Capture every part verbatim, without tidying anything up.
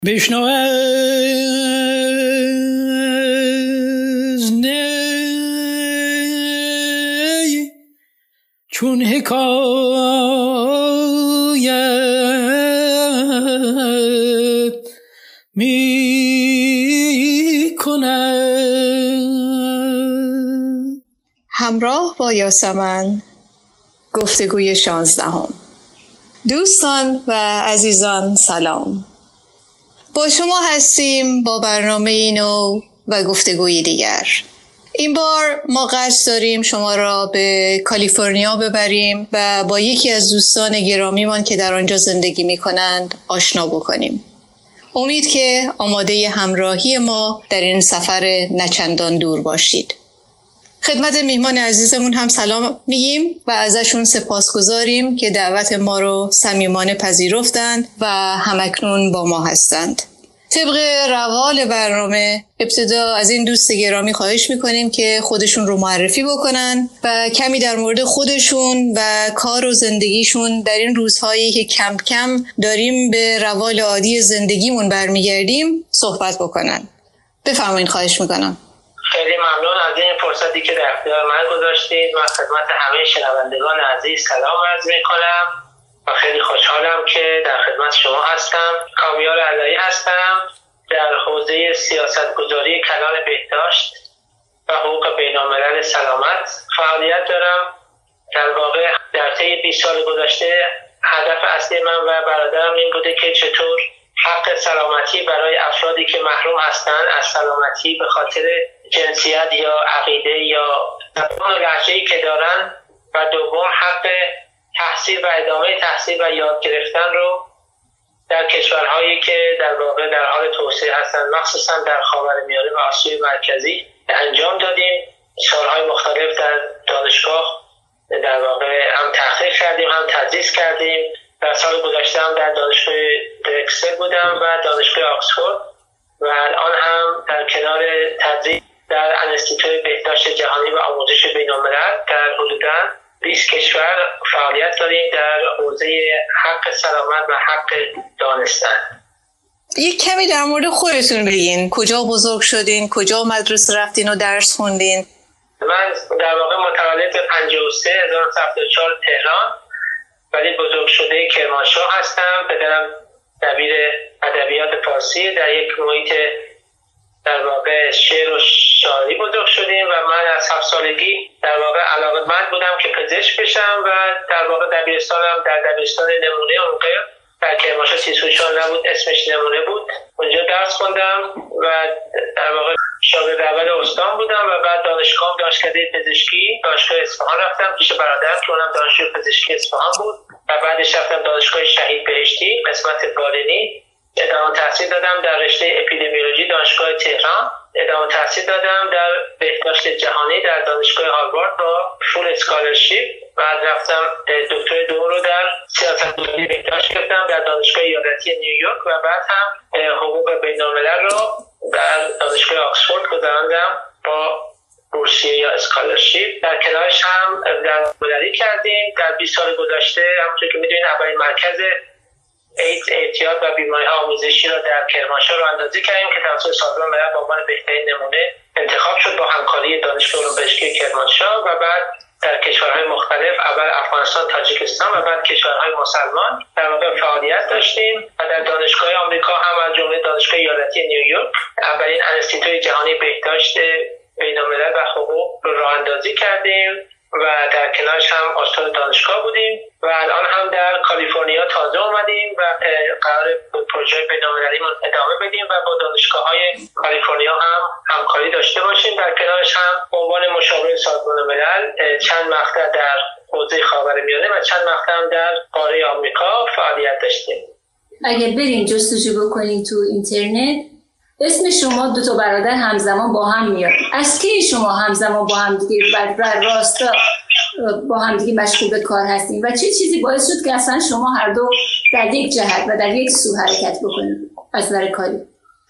بشنو از نی چون حکایت می کند. همراه با یاسمن گفتگوی شانزدهم. دوستان و عزیزان سلام، با شما هستیم با برنامه نو و گفتگوی دیگر. این بار ما قصد داریم شما را به کالیفرنیا ببریم و با یکی از دوستان گرامیمان که در آنجا زندگی می کنند آشنا بکنیم. امید که آماده همراهی ما در این سفر نچندان دور باشید. خدمت میهمان عزیزمون هم سلام میگیم و ازشون سپاسگزاریم که دعوت ما رو صمیمانه پذیرفتند و همکنون با ما هستند. طبق روال برنامه ابتدا از این دوست گرامی خواهش میکنیم که خودشون رو معرفی بکنن و کمی در مورد خودشون و کار و زندگیشون در این روزهایی که کم کم داریم به روال عادی زندگیمون برمیگردیم صحبت بکنن. بفرمایید، خواهش میکنم. خیلی ممنون از این فرصتی که در اختیار من گذاشتید. من خدمت همه شنوندگان عزیز سلام عرض میکنم و خیلی خوشحالم که در خدمت شما هستم. کامیار علایی هستم، در حوزه سیاستگذاری کلان بهداشت و حقوق بین‌الملل سلامت فعالیت دارم. در واقع در طی بیست سال گذشته هدف اصلی من و برادرم این بوده که چطور حق سلامتی برای افرادی که محروم هستند از سلامتی به خاطر جنسیت یا عقیده یا زبان و لهجه‌ای که دارن و دوم حق تحصیل و ادامه تحصیل و یاد گرفتن رو در کشورهایی که در واقع در حال توسعه هستند، مخصوصا در خاورمیانه و آسیای مرکزی انجام دادیم. سالهای مختلف در دانشگاه در واقع هم تحقیق کردیم هم تدریس کردیم. در سال گذشته هم در دانشگاه درکسل بودم و دانشگاه آکسفورد و الان هم در کنار تدریس در انستیتوی بهداشت جهانی و آموزش بین‌الملل در حدوداً بیست کشور فعالیت داریم در حوزه حق سلامت و حق دانستن. یک کمی در مورد خودتون بگین. کجا بزرگ شدین؟ کجا مدرسه رفتین و درس خوندین؟ من در واقع متولد پنجاه و سه هزار و نهصد و هفتاد و چهار تهران ولی بزرگ شده کرمانشاه هستم. پدرم دبیر ادبیات فارسی، در یک محیط در واقع شعر و شاعری بزرگ شدیم و من از هفت سالگی در واقع علاقه‌مند بودم که پزشک بشم و در واقع دبیرستانم در دبیرستان نمونه اونقدر در کرمانشاه سیسوچان نبود، اسمش نمونه بود. اونجا درس خوندم و در واقع شاگرد اول استان بودم و بعد دانشگاه دانشکده پزشکی دانشگاه اصفهان رفتم پیش برادرم که اونم دانشجوی پزشکی اصفهان بود و بعدش رفتم دانشگاه شهید بهشتی قسمت بالینی. ادامه تحصیل دادم در رشته اپیدمیولوژی دانشگاه تهران. ادامه تحصیل دادم در بهداشت جهانی در دانشگاه هاروارد با فول اسکالرشیپ. بعد رفتم دکترای دوم رو در سیاستگذاری بهداشت گرفتم در دانشگاه ایالتی نیویورک و بعد هم حقوق بین‌الملل رو در دانشگاه آکسفورد گذراندم با بورسیه یا اسکالرشیپ. در کنارش هم درمانداری کردیم. در بیست سال گذشته همونطور که می‌دونید اولین مرکز ایدز، اعتیاد و بیماری‌های آموزشی را در کرمانشاه رو اندازی کردیم که توسط سازمان ملل به عنوان بهترین نمونه انتخاب شد با همکاری دانشگاه علوم پزشکی کرمانشاه و بعد در کشورهای مختلف، اول افغانستان، تاجیکستان و بعد کشورهای مسلمان در واقع فعالیت داشتیم و در دانشگاه آمریکا هم از جمله دانشگاه ایالتی نیویورک اولین انستیتوی جهانی بهداشت بین‌الملل و حقوق رو راه اندازی کردیم و در کنارش هم استاد دانشگاه بودیم و الان هم در کالیفرنیا تازه اومدیم و قرار پروژه بین‌المللیمون ادامه بدیم و با دانشگاه‌های کالیفرنیا هم همکاری داشته باشیم. در کنارش هم به عنوان مشاور سازمان ملل چند مقطع در حوزه خاورمیانه و چند مقطع هم در قاره آمریکا فعالیت داشتیم. اگر برین جستجو بکنین تو اینترنت اسم شما دو تا برادر همزمان با هم میاد. از کی شما همزمان با هم دیگه بر راستا با هم دیگه مشغول به کار هستین و چه چیزی باعث شد که اصلا شما هر دو در یک جهت و در یک سو حرکت بکنید از نظر کاری؟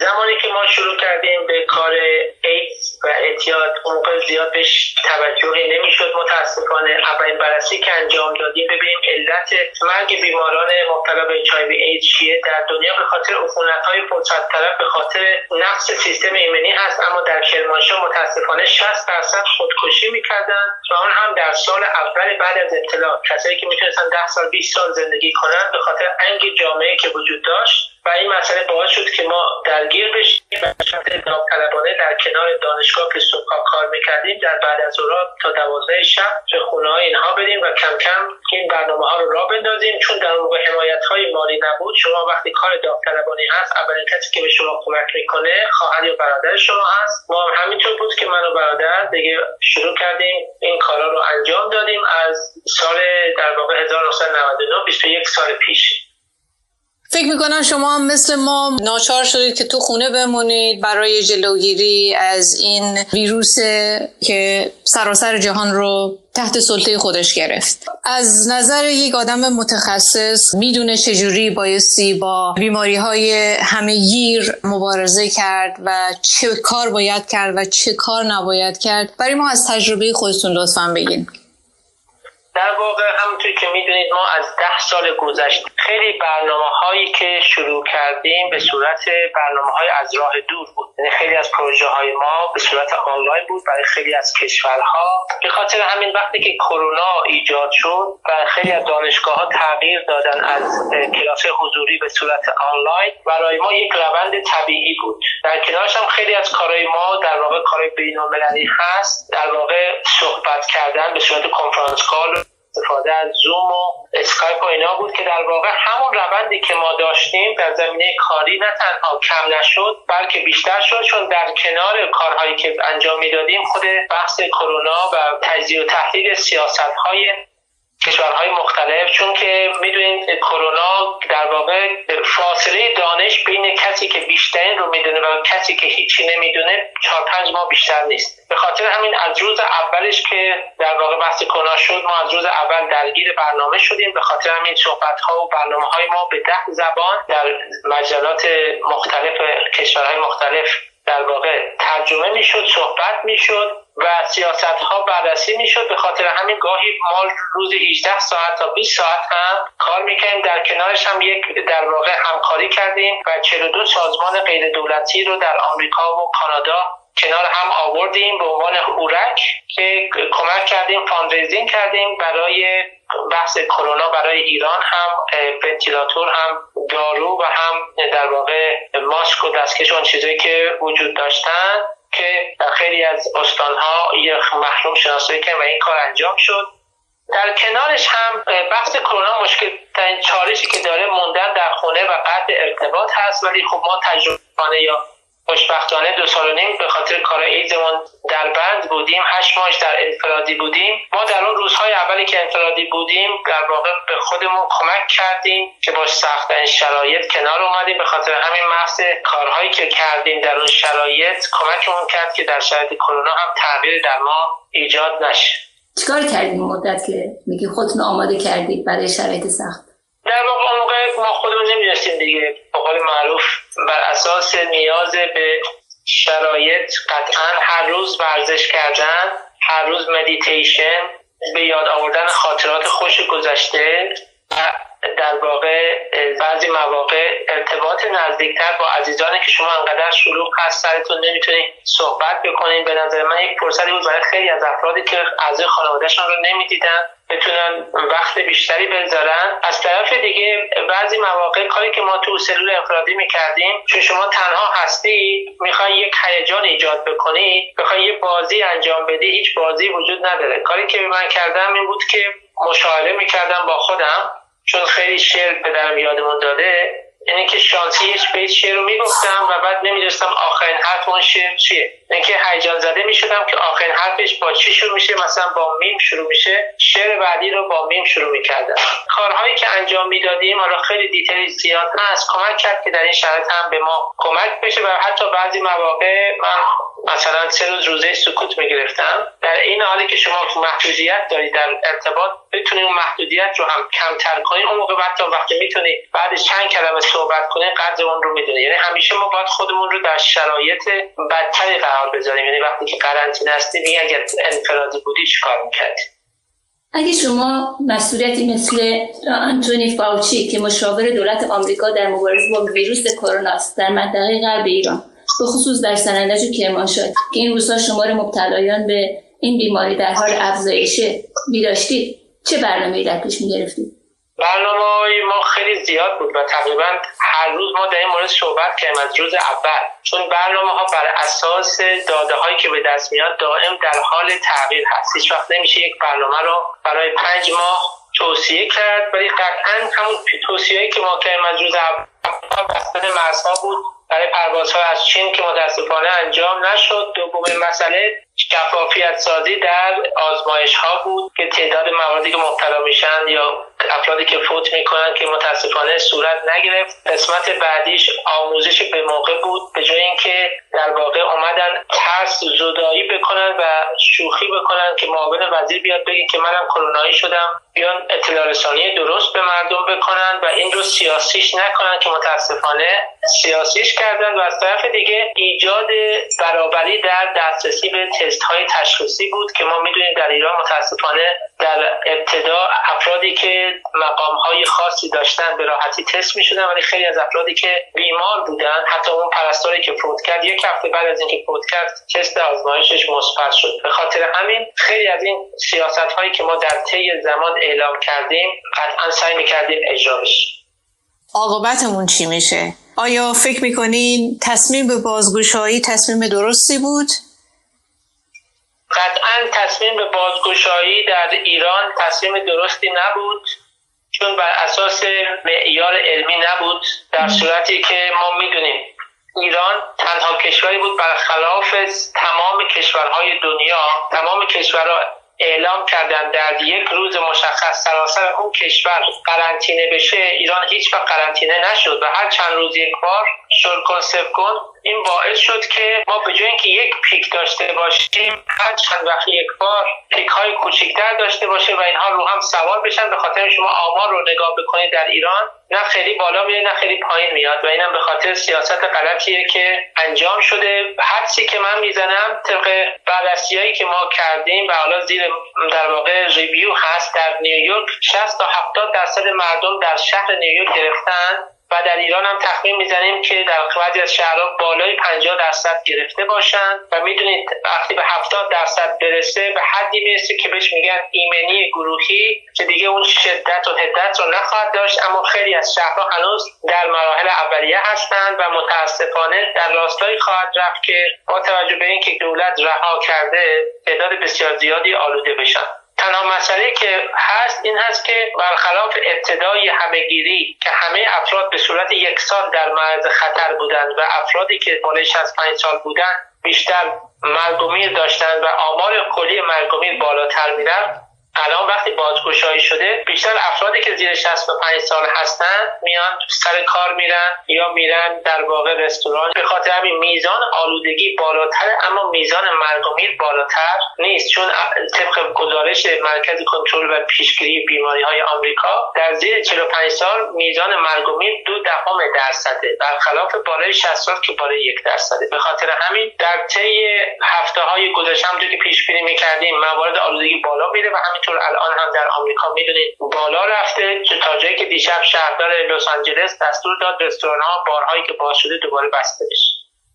زمانی که ما شروع کردیم به کار ایدز و اعتیاد اون موقع زیاد بهش توجهی نمیشد متاسفانه. اولین بررسی که انجام دادیم ببینیم علت مرگ بیماران مبتلا به اچ آی وی ایدز چیه در دنیا به خاطر عفونت‌های پرصد طرف به خاطر نقص سیستم ایمنی هست، اما در کرمانشاه متاسفانه شصت درصد خودکشی میکردن و اون هم در سال اول بعد از ابتلا. کسایی که میتونستن ده سال بیست سال زندگی کنن به خاطر انگ جامعه که وجود داشت و این مسئله باعث شد که ما درگیر بشیم و شرط داوطلبانه در کنار دانشگاه که صبح‌ها کار میکردیم در بعد از ظهر تا دوازده شب به خونه‌های اینها بریم و کم کم این برنامه‌ها رو راه بندازیم. چون در اون موقع حمایت‌های مالی نبود، شما وقتی کار داوطلبانه هست اولین کسی که به شما کمک میکنه خواهر یا برادر شما هست. ما هم همینطور بود که من و برادر دیگه شروع کردیم این کارا رو انجام دادیم از سال در واقع هزار و نهصد و نود و نه بیست و یک سال پیش. فکر میکنم شما هم مثل ما ناچار شدید که تو خونه بمونید برای جلوگیری از این ویروس که سراسر جهان رو تحت سلطه خودش گرفت. از نظر یک آدم متخصص میدونه چجوری بایستی با بیماری‌های همه‌گیر مبارزه کرد و چه کار باید کرد و چه کار نباید کرد. برای ما از تجربه خودتون لطفاً بگین. در واقع همونطور که میدونید ما از ده سال گذشته خیلی برنامه هایی که شروع کردیم به صورت برنامه های از راه دور بود. یعنی خیلی از پروژه های ما به صورت آنلاین بود برای خیلی از کشورها. به خاطر همین وقتی که کرونا ایجاد شد و خیلی از دانشگاه ها تغییر دادن از کلاس حضوری به صورت آنلاین، برای ما یک روند طبیعی بود. در کنارش هم خیلی از کارهای ما در واقع کارهای بین‌المللی هست، در واقع صحبت کردن به صورت کنفرانس کال، استفاده از زوم و اسکایپ و اینا بود که در واقع همون روندی که ما داشتیم در زمینه کاری نه تنها کم نشد بلکه بیشتر شد، چون در کنار کارهایی که انجام میدادیم خود بحث کرونا و تجزیه و تحلیل سیاست‌های کشورهای مختلف، چون که میدونید کرونا در واقع فاصله دانش بین کسی که بیشترین رو میدونه و کسی که هیچی نمیدونه چهار پنج ماه بیشتر نیست. به خاطر همین از روز اولش که در واقع بحث کرونا شد ما از روز اول درگیر برنامه شدیم. به خاطر همین صحبت‌ها و برنامه‌های ما به ده زبان در مجلات مختلف کشورهای مختلف در واقع ترجمه میشد، صحبت میشد و سیاست ها بررسی میشد. به خاطر همین گاهی ما روز هجده ساعت تا بیست ساعت هم کار میکنیم. در کنارش هم یک در واقع همکاری کردیم و چهل و دو سازمان غیر دولتی رو در آمریکا و کانادا کنار هم آوردیم به عنوان هورک که کمک کردیم، فاندریزینگ کردیم برای بحث کرونا برای ایران، هم ونتیلاتور، هم دارو و هم در واقع ماسک و دستکش و اون چیزایی که وجود داشتن که در خیلی از استانها یک محروم شناسایی کردن و این کار انجام شد. در کنارش هم بحث کرونا مشکل ترین چالشی که داره موندن در خونه و قطع ارتباط هست، ولی خب ما تجربه یا خوشبختانه دو سال و نیم به خاطر کار ایدزمون در بند بودیم، هشت ماهش در انفرادی بودیم. ما در اون روزهای اولی که انفرادی بودیم در واقع به خودمون کمک کردیم که با سخت‌ترین شرایط کنار اومدیم. به خاطر همین محض کارهایی که کردیم در اون شرایط کمکمون کرد که در شرایط کرونا هم تغییر در ما ایجاد نشه. چیکار کردیم مدت که میگی خودتون آماده کردید برای شرایط سخت؟ در واقع اون موقع ما خودمون نمی‌دونستیم دیگه، به قول معروف بر اساس نیاز به شرایط قطعا هر روز ورزش کردن، هر روز مدیتیشن، به یاد آوردن خاطرات خوش گذشته و در واقع بعضی مواقع ارتباط نزدیکتر با عزیزانی که شما انقدر شلوغ هست سرتون نمیتونید صحبت بکنید. به نظر من یک فرصتی بود برای خیلی از افرادی که اعضای خانواده‌شون رو نمیدیدن بتونن وقت بیشتری بذارن. از طرف دیگه بعضی مواقع کاری که ما تو سلول انفرادی میکردیم، چون شما تنها هستی میخوای یک هیجان ایجاد بکنی، میخوای یه بازی انجام بدی، هیچ بازی وجود نداره. کاری که من کردم این بود که مشاوره میکردم با خودم، چون خیلی شعر پدرم یادمون داده، اینه که شانسی هیچ بیت شعر رو میگفتم و بعد نمیدونستم آخرین حرف اون شعر چیه. اینه که هیجان زده میشدم که آخرین حرفش با چی شروع میشه، مثلا با میم شروع میشه، شعر بعدی رو با میم شروع میکردم. کارهایی که انجام میدادیم حالا خیلی دیتیل زیاد هست، کمک کرد که در این شرایط هم به ما کمک بشه و حتی بعضی مواقع من مثلا سه روز روزه سکوت میگرفتم. در این حالی که شما محدودیت دارید در ارتباط، بتونید اون محدودیت رو هم کمتر کنید، اون موقع حتی وقتی میتونید بعدش چند کلمه صحبت کنید قدر اون رو میدونید. یعنی همیشه ما باید خودمون رو در شرایط بدتری قرار بذاریم. یعنی وقتی که قرنطینه هستیم، این اگر انفرادی بودی چیکار میکردید؟ اگه شما مسئولیتی مثل آنتونی فاوچی که مشاور دولت آمریکا در مبارزه با ویروس کرونا است در منطقه غرب ایران، به خصوص در سنندج و کرمانشاه که این روزها شمار مبتلایان به این بیماری در حال افزایشه می‌داشتید، چه برنامه‌ای در پیش می‌گرفتید؟ برنامه‌های ما خیلی زیاد بود و تقریبا هر روز ما در این مورد صحبت کردیم از روز اول، چون برنامه‌ها بر اساس داده‌هایی که به دست میاد دائم در حال تغییر هست. هیچ وقت نمیشه یک برنامه رو برای پنج ماه توصیه کرد، ولی قطعاً همون توصیه‌ای که ما کردیم از روز اول بسته مرزها بود برای پروازها از چین که متاسفانه انجام نشد. دومین مسئله شفافیت سازی در آزمایش ها بود که تعداد مواردی که مبتلا میشن یا افرادی که فوت میکنن که متاسفانه صورت نگرفت. قسمت بعدیش آموزش به موقع بود، به جای اینکه در واقع اومدن ترس زدایی بکنن و شوخی بکنن که معاون وزیر بیاد بگه که منم کرونایی شدم، بیان اطلاع رسانی درست به مردم بکنن و این رو سیاسیش نکنن که متاسفانه سیاسیش کردن. و از طرف دیگه ایجاد برابری در دسترسی به تست های تشخیصی بود که ما میدونیم در ایران متاسفانه در ابتدا افرادی که مقام های خاصی داشتن به راحتی تست میشدن، ولی خیلی از افرادی که بیمار بودن، حتی اون پرستاری که فوت کرد یک هفته بعد از اینکه فوت کرد تست آزمایشش مثبت شد. به خاطر همین خیلی از این سیاست هایی که ما در طی زمان اعلام کردیم قطعا سعی میکردیم اجرا بشه. عاقبتمون چی میشه؟ آیا فکر میکنین تصمیم به بازگشایی تصمیم درستی بود؟ قطعا تصمیم به بازگشایی در ایران تصمیم درستی نبود، چون بر اساس معیار علمی نبود، در صورتی که ما میدونیم ایران تنها کشوری بود برخلاف تمام کشورهای دنیا. تمام کشورها اعلام کردن در یک روز مشخص سراسر اون کشور قرنطینه بشه، ایران هیچ وقت قرنطینه نشد و هر چند روز یک بار شل کن صفر کن. این باعث شد که ما به جای اینکه یک پیک داشته باشیم هر چند وقت یک بار پیک های کوچکتر داشته باشیم و اینها رو هم سوار بشن. به خاطر شما آمار رو نگاه بکنید در ایران نه خیلی بالا میاد نه خیلی پایین میاد و اینم به خاطر سیاست غلطیه که انجام شده. حدسی که من میزنم طبق بررسیایی که ما کردیم و حالا زیر در واقع ریویو هست، در نیویورک شصت تا هفتاد درصد مردم در شهر نیویورک گرفتن و در ایران هم تخمین میزنیم که در بعضی از شهرها بالای پنجاه درصد گرفته باشن و میدونید وقتی به هفتاد درصد برسه به حدی میرسه که بهش میگن ایمنی گروهی که دیگه اون شدت و حدت رو نخواهد داشت. اما خیلی از شهرها هنوز در مراحل اولیه هستند و متاسفانه در راستایی خواهد رفت که با توجه به اینکه دولت رها کرده تعداد بسیار زیادی آلوده بشن. تنها مسئله که هست این هست که برخلاف ابتدای همه‌گیری که همه افراد به صورت یکسان در معرض خطر بودند و افرادی که بالای شصت و پنج سال بودند بیشتر مرگ و میر داشتند و آمار کلی مرگ و میر بالاتر میرفت، الان وقتی بازگشایی شده بیشتر افرادی که زیر شصت و پنج سال هستن میان سر کار میرن یا میرن در واقع رستوران. به خاطر همین میزان آلودگی بالاتر اما میزان مرگ و میر بالاتر نیست، چون طبق گزارش مرکز کنترل و پیشگیری بیماری های آمریکا در زیر چهل و پنج سال میزان مرگ و میر دو دهم درصده برخلاف بالای شصت سال که بالای یک درصده. به خاطر همین در طی هفته های گذشته همونطور که پیش بینی می‌کردیم موارد آلودگی بالا میره و همینطور الان هم در آمریکا میدونید بالا رفته تا جایی که دیشب شهردار لس آنجلس دستور داد رستوران‌ها بارهایی که باز شده دوباره بسته بشه.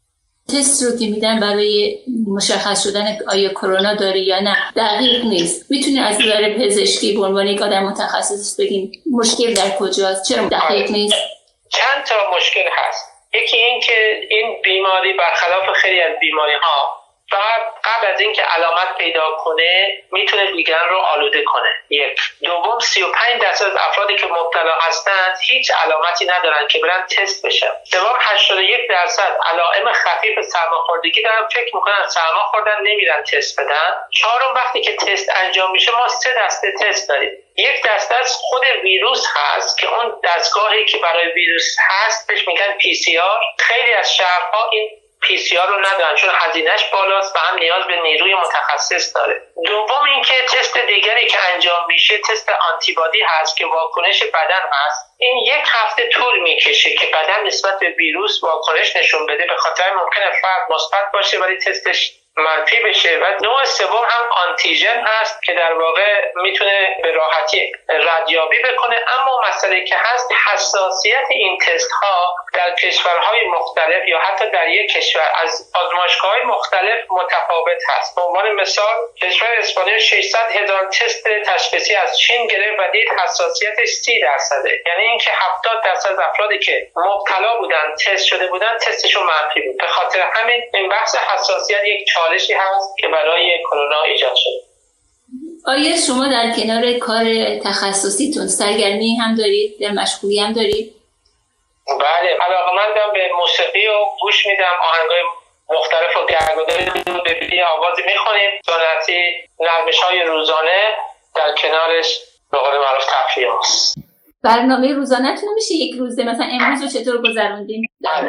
تست رو که میدن برای مشخص شدن آیا کرونا داری یا نه دقیق نیست. میتونی از نظر پزشکی به عنوان یک آدم متخصص بگین مشکل در کجاست؟ چرا دقیق نیست؟ چند تا مشکل هست. یکی این که این بیماری برخلاف خیلی از بیماری‌ها فقط قبل از اینکه علامت پیدا کنه میتونه دیگران رو آلوده کنه. یک. دوم سی و پنج درصد از افرادی که مبتلا هستند هیچ علامتی ندارن که برن تست بشن. سوم هشتاد و یک درصد علائم خفیف سرماخوردگی دارن، فکر میکنن سرما خوردن نمیرن تست بدن. چهارم وقتی که تست انجام میشه ما سه دسته تست داریم. یک دسته از خود ویروس هست که اون دستگاهی که برای ویروس هست بهش میگن پی سی آر. خیلی از شهرها این پی سی آر رو ندارن چون هزینهش بالاست و هم نیاز به نیروی متخصص داره. دوم اینکه تست دیگری که انجام میشه تست آنتیبادی هست که واکنش بدن هست. این یک هفته طول میکشه که بدن نسبت به ویروس واکنش نشون بده، به خاطر ممکنه فرد مثبت باشه ولی تستش منفی بشه. و نوع سوم هم آنتیژن هست که در واقع میتونه به راحتی ردیابی بکنه. اما مسئله که هست حساسیت این تست ها در کشورهای مختلف یا حتی در یک کشور از آزمایشگاه‌های مختلف متفاوت هست. به عنوان مثال کشور اسپانیا ششصد هزار تست تشخیصی از چین گرفت و دید حساسیتش سی درصده، یعنی اینکه هفتاد درصد از افرادی که مبتلا بودن تست شده بودن تستشون منفی بود. به خاطر همین این بحث حساسیت یک چالشی هست که برای کرونا ایجاد شده. آیا شما در کنار کار تخصصیتون سرگرمی هم دارید؟ در مشغولی هم دارید؟ بله، علاقه‌مندم به موسیقی و گوش میدم، آهنگای مختلف و گرگوداری به بیدی آوازی میخونیم، سنتی نرمش‌های روزانه در کنارش به قول معروف تفریح هست. برنامه روزانه‌تون میشه یک روزه مثلا امروز رو چطور گذروندین؟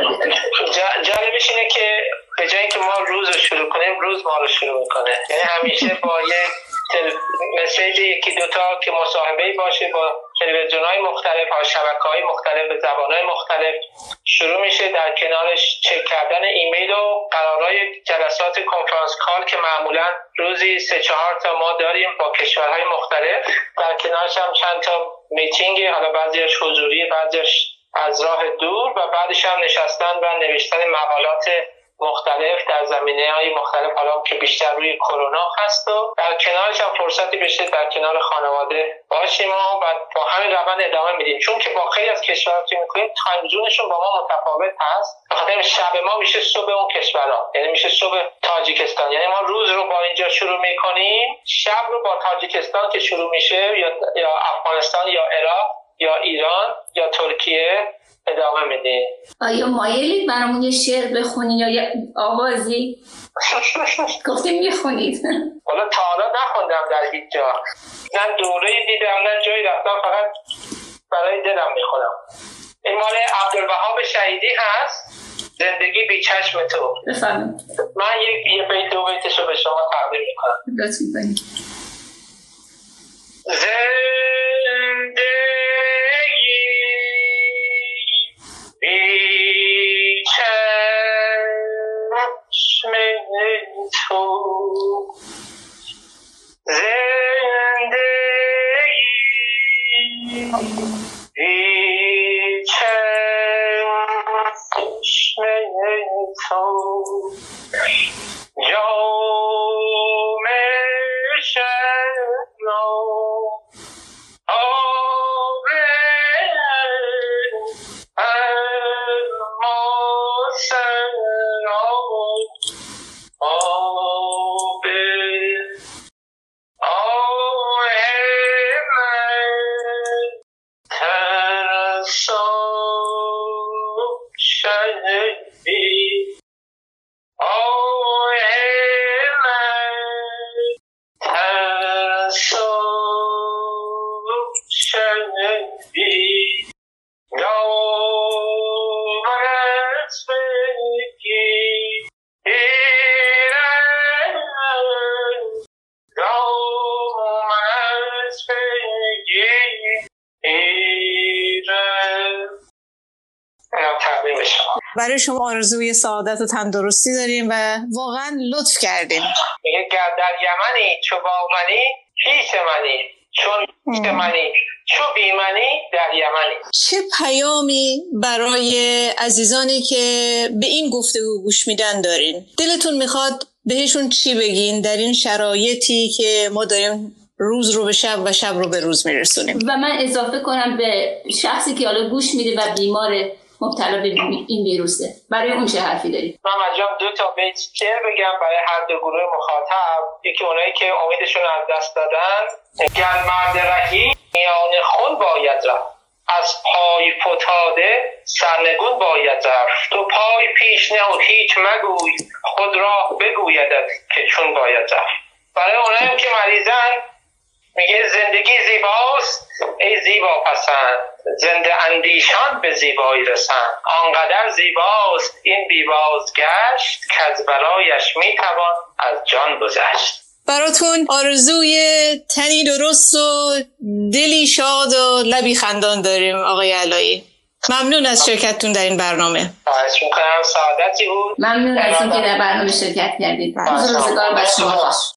جالبش اینه که به جایی که ما روز رو شروع کنیم روز ما رو شروع میکنه، یعنی همیشه با یه مسیج یکی دوتا که مصاحبه‌ای باشه با تلویزیون‌های مختلف ها شبکه‌های مختلف به زبان‌های مختلف شروع میشه، در کنارش چک کردن ایمیل و قرارهای جلسات کنفرانس کال که معمولا روزی سه چهار تا ما داریم با کشورهای مختلف، در کنارش هم چند تا میتینگ، حالا بعضیش حضوری بعضیش از راه دور، و بعدش هم نشستن و نوشتن مقالات مختلف در زمینه‌های مختلف حالا که بیشتر روی کرونا هست و در کنارش هم فرصتی بشه در کنار خانواده باشیم و با همین روند ادامه میدیم. چون که با خیلی از کشورها که می‌کنیم تایم زونشون با ما متفاوت هست، بخاطر شب ما میشه صبح اون کشورها، یعنی میشه صبح تاجیکستان، یعنی ما روز رو با اینجا شروع می‌کنیم، شب رو با تاجیکستان که شروع میشه یا یا افغانستان یا عراق یا ایران یا ترکیه ادامه میدیم. آیا مایلید برامون یه شعر بخونید یا یه آوازی؟ گفتیم میخونید. والا تا حالا نخوندم در هیچ جا، نه دوره دیدم نه جایی رفتم، فقط برای دلم میخونم. این مال عبدالوهاب شهیدی هست، زندگی بی چشم تو. بفرمایید. من یک یه بیت دو بیتشو به شما تقدیم میکنم. لطف میکنید. زندگی بی چشم تو، زندگی بی چشم تو، جام شراب برای شما آرزوی سعادت و تندرستی داریم و واقعا لطف کردیم. میگه گر در یمنی چو با منی پیش منی، چون پیش منی چو بی منی در یمنی. چه پیامی برای عزیزانی که به این گفتگو گوش میدن دارین؟ دلتون میخواد بهشون چی بگین در این شرایطی که ما داریم روز رو به شب و شب رو به روز میرسونیم؟ و من اضافه کنم به شخصی که حالا گوش میده و بیماره مبتلا به این ویروسه، برای اون چه حرفی دارید؟ من مجبورم دو تا بیت شعر بگم برای هر دو گروه مخاطب. یکی اونایی که امیدشون از دست دادن، گر مرد رهی میان خون باید رفت، از پای فتاده سرنگون باید رفت، تو پای پیش نه و هیچ مگوی، خود راه بگویدت که چون باید رفت. برای اونایی که مریضن میگه زندگی زیباست ای زیبا پسند، زنده اندیشان به زیبایی رسند. آنقدر زیباست این بی‌بازگشت، که از بلایش میتوان از جان گذشت. براتون آرزوی تنی درست و دلی شاد و لبی خندان داریم آقای علایی. ممنون از شرکتتون در این برنامه. خواهش میکنم، سعادتی بود. ممنون از اینکه در برنامه شرکت کردید. روز روزگار بر شما خوش.